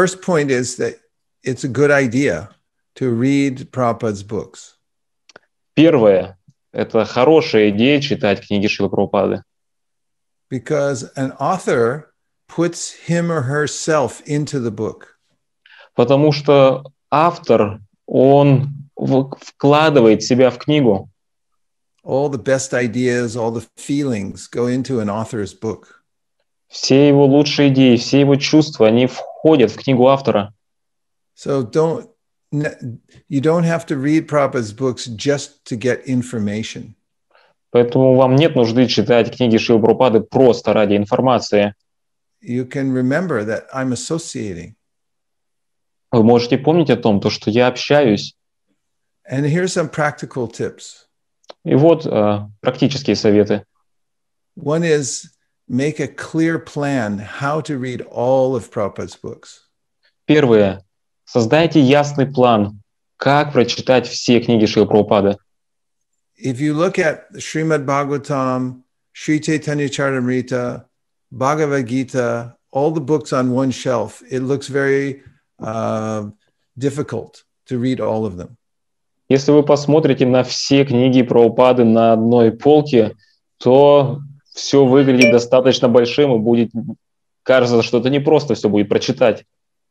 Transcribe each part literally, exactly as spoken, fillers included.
first point is that it's a good idea to read Prabhupada's books. Первое – это хорошая идея читать книги Шрилы Прабхупады. Because an author puts him or herself into the book. Потому что автор, он вкладывает себя в книгу. All the best ideas, all the feelings go into an author's book. Все его лучшие идеи, все его чувства, они входят в книгу автора. So don't, you don't have to read Prabhupada's books just to get information. Поэтому вам нет нужды читать книги Шрилы Прабхупады просто ради информации. You can remember that I'm associating. Вы можете помнить о том, то, что я общаюсь. And here's some practical tips. И вот э, практические советы. One is make a clear plan how to read all of Prabhupada's books. Первое. Создайте ясный план, как прочитать все книги Шрилы Прабхупады. If you look at Srimad Bhagavatam, Sri Chaitanya Charitamrita, Bhagavad Gita, all the books on one shelf, it looks very uh, difficult to read all of them. Если вы посмотрите на все книги Прабхупады на одной полке, то все выглядит достаточно большим и будет кажется, что это не просто все будет прочитать.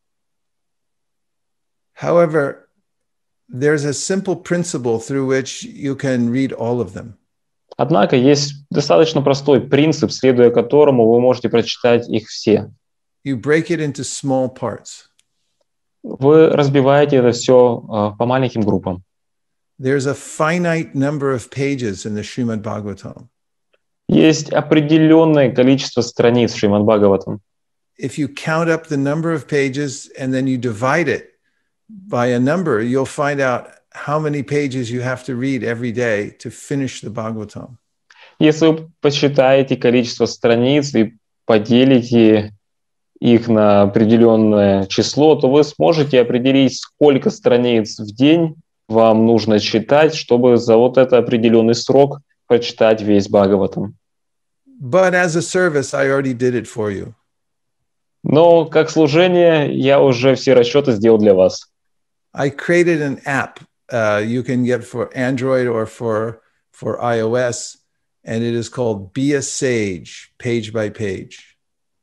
However, there's a simple principle through which you can read all of them. Однако есть достаточно простой принцип, следуя которому вы можете прочитать их все. You break it into small parts. Вы разбиваете это все uh, по маленьким группам. There's a finite number of pages in the Srimad Bhagavatam. Есть определенное количество страниц в Шримад Бхагаватам. If you count up the number of pages and then you divide it by a number, you'll find out how many pages you have to read every day to finish the Bhagavatam. Если вы посчитаете количество страниц и поделите их на определенное число, то вы сможете определить, сколько страниц в день вам нужно читать, чтобы за вот этот определенный срок прочитать весь Бхагаватам. But as a service, I already did it for you. Но как служение я уже все расчеты сделал для вас. I created an app uh, you can get for Android or for, for iOS, and it is called Be a Sage, page by page.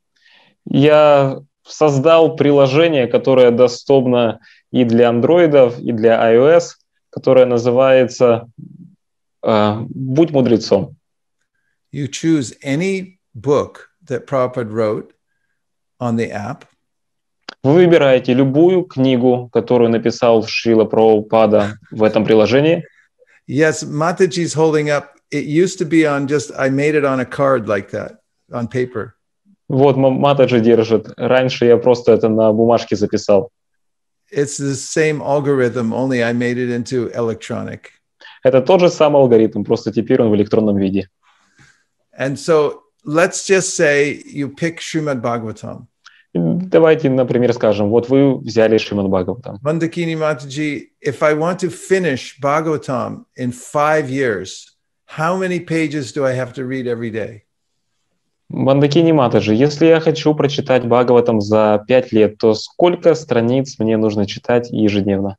Я создал приложение, которое доступно и для андроидов, и для iOS, которое называется uh, «Будь мудрецом». You choose any book that Prabhupada wrote on the app. Вы выбираете любую книгу, которую написал Шрила Прабхупада в этом приложении. Yes, Mataji's holding up. It used to be on just, I made it on a card like that, on paper. Вот Матаджи держит. Раньше я просто это на бумажке записал. It's the same algorithm, only I made it into electronic. Это тот же самый алгоритм, просто теперь он в электронном виде. And so let's just say you pick Srimad Bhagavatam. Давайте, например, скажем, вот вы взяли Шримад Бхагаватам. Mandakini Mataji, if I want to finish Bhagavatam in five years, how many pages do I have to read every day? Мандакини Матаджи, если я хочу прочитать Бхагаватам за пять лет, то сколько страниц мне нужно читать ежедневно?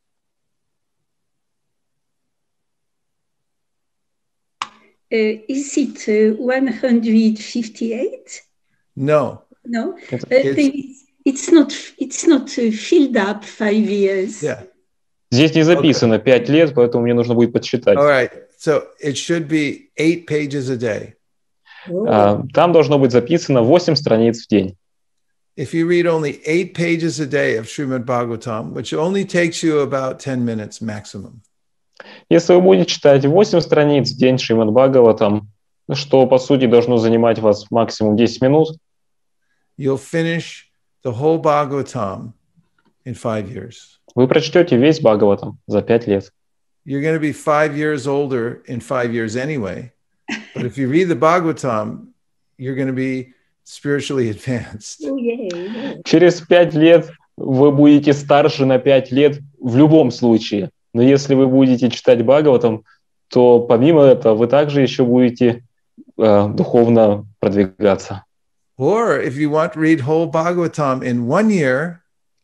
Uh, is it uh, one hundred fifty-eight? No. No, It's, uh, it's, it's not. It's not uh, filled up five years. Yeah. Здесь не записано пять лет, поэтому мне нужно будет подсчитать. All right. So it should be eight pages a day. Uh, там должно быть записано восемь страниц в день. If you read only eight pages a day of Srimad Bhagavatam, which only takes you about ten minutes maximum. Если вы будете читать восемь страниц в день Шримад Бхагаватам, что по сути должно занимать вас максимум десять минут, you'll finish the whole Bhagavatam in five years. Вы прочтете весь Бхагаватам за пять лет. You're going to be five years older in five years anyway. But if you read the Bhagavatam, you're going to be spiritually advanced. Oh, yeah. Через пять лет вы будете старше на пять лет в любом случае. Но если вы будете читать Бхагаватам, то помимо этого вы также еще будете э, духовно продвигаться. Or if you want to read whole Bhagavatam in one year,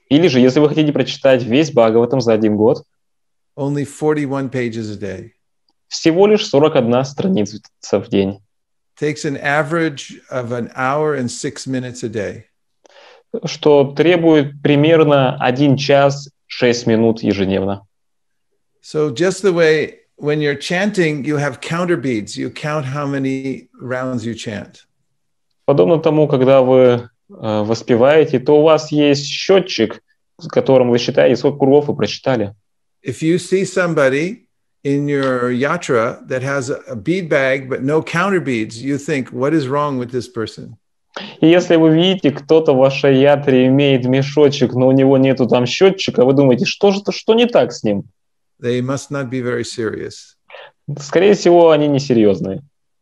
Или же, если вы хотите прочитать весь Бхагаватам за один год, only forty-one pages a day. всего лишь сорок одна страница в день. Takes an average of an hour and six minutes a day. Что требует примерно один час шесть минут ежедневно. So just the way when you're chanting, you have counter beads. You count how many rounds you chant. Подобно тому, когда вы э, воспеваете, то у вас есть счетчик, с которым вы считаете, сколько кругов вы прочитали. If you see somebody in your yatra that has a bead bag but no counter beads, you think, what is wrong with this person? И если вы видите, кто-то в вашей ятре имеет мешочек, но у него нету там счетчика, вы думаете, что же, что не так с ним? They must not be very serious. Скорее всего, они несерьезные.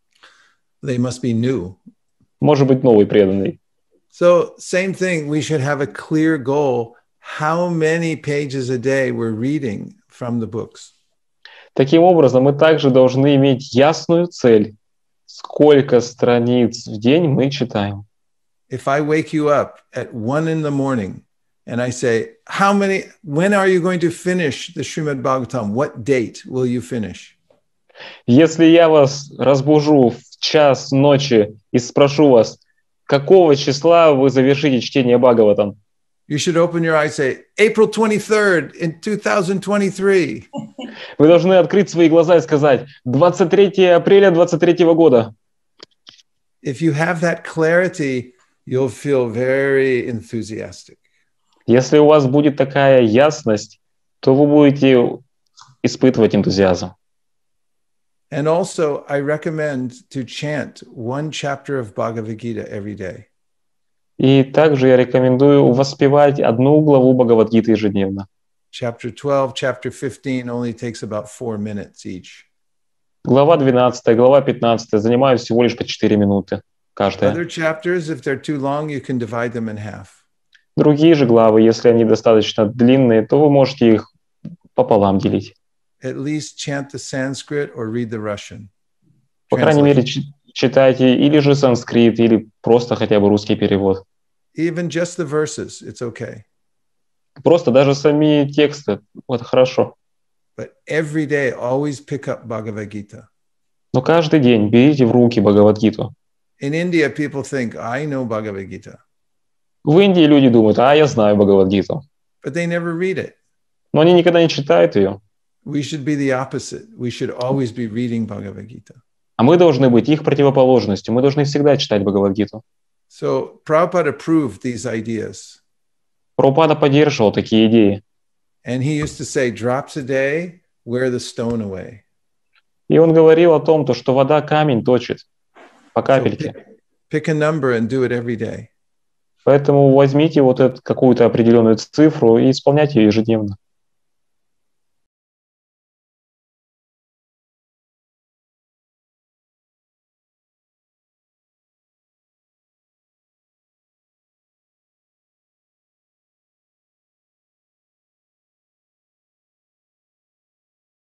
They must be new. Может быть, новый преданный. So same thing, we should have a clear goal. How many pages a day we're reading from the books? Таким образом, мы также должны иметь ясную цель, сколько страниц в день мы читаем. If I wake you up at one in the morning and I say, how many, when are you going to finish the Srimad Bhagavatam? What date will you finish? Если я вас разбужу в час ночи и спрошу вас, какого числа вы завершите чтение Бхагаватам? You should open your eyes and say, April twenty-third in two thousand twenty-three. Вы должны открыть свои глаза и сказать двадцать третьего апреля двадцать третьего года. If you have that clarity, you'll feel very enthusiastic. Если у вас будет такая ясность, то вы будете испытывать энтузиазм. And also, I recommend to chant one chapter of Bhagavad Gita every day. И также я рекомендую воспевать одну главу Бхагавад-гиты ежедневно. Chapter twelve, chapter fifteen only takes about four minutes each. Глава двенадцатая, глава пятнадцатая занимают всего лишь по четыре минуты каждая. Other chapters, if they're too long, you can divide them in half. Другие же главы, если они достаточно длинные, то вы можете их пополам делить. At least chant the Sanskrit or read the Russian. По крайней мере, читайте или же санскрит, или просто хотя бы русский перевод. Even just the verses, it's okay. Просто даже сами тексты, вот хорошо. But every day, always pick up Bhagavad Gita. Но каждый день берите в руки Бхагавад-гиту. In India, people think, I know Bhagavad Gita. В Индии люди думают, а я знаю Бхагавад-гиту. But they never read it. Но они никогда не читают ее. We should be the opposite. We should always be reading Bhagavad Gita. А мы должны быть их противоположностью. Мы должны всегда читать Бхагавад-гиту. So Prabhupada approved these ideas. Прабхупада поддерживал такие идеи. And he used to say, drops a day, wear the stone away. И он говорил о том, то, что вода камень точит по So капельке. pick, pick a number and do it every day. Поэтому возьмите вот эту какую-то определенную цифру и исполняйте ее ежедневно.